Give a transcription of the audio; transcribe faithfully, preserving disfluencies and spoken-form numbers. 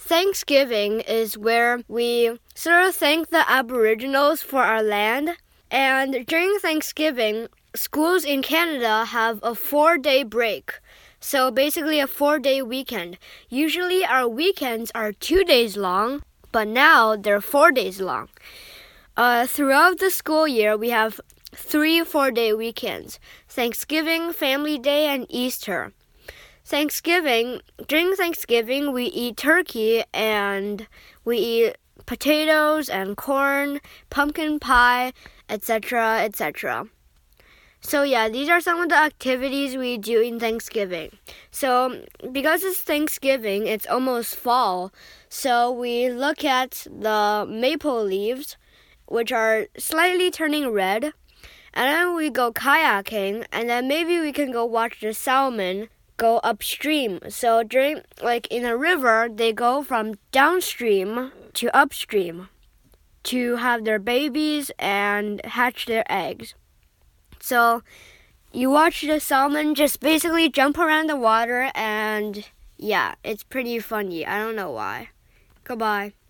Thanksgiving is where we sort of thank the Aboriginals for our land. And during Thanksgiving, schools in Canada have a four-day break. So basically a four-day weekend. Usually our weekends are two days long, but now they're four days long. Uh, throughout the school year, we have three four-day weekends: Thanksgiving, Family Day, and Easter. Thanksgiving, during Thanksgiving, we eat turkey and we eat potatoes and corn, pumpkin pie, et cetera, et cetera. So yeah, these are some of the activities we do in Thanksgiving. So because it's Thanksgiving, it's almost fall. So we look at the maple leaves, which are slightly turning red. And then we go kayaking, and then maybe we can go watch the salmon go upstream. So during, like in a river, they go from downstream to upstream to have their babies and hatch their eggs. So you watch the salmon just basically jump around the water, and yeah, it's pretty funny. I don't know why. Goodbye.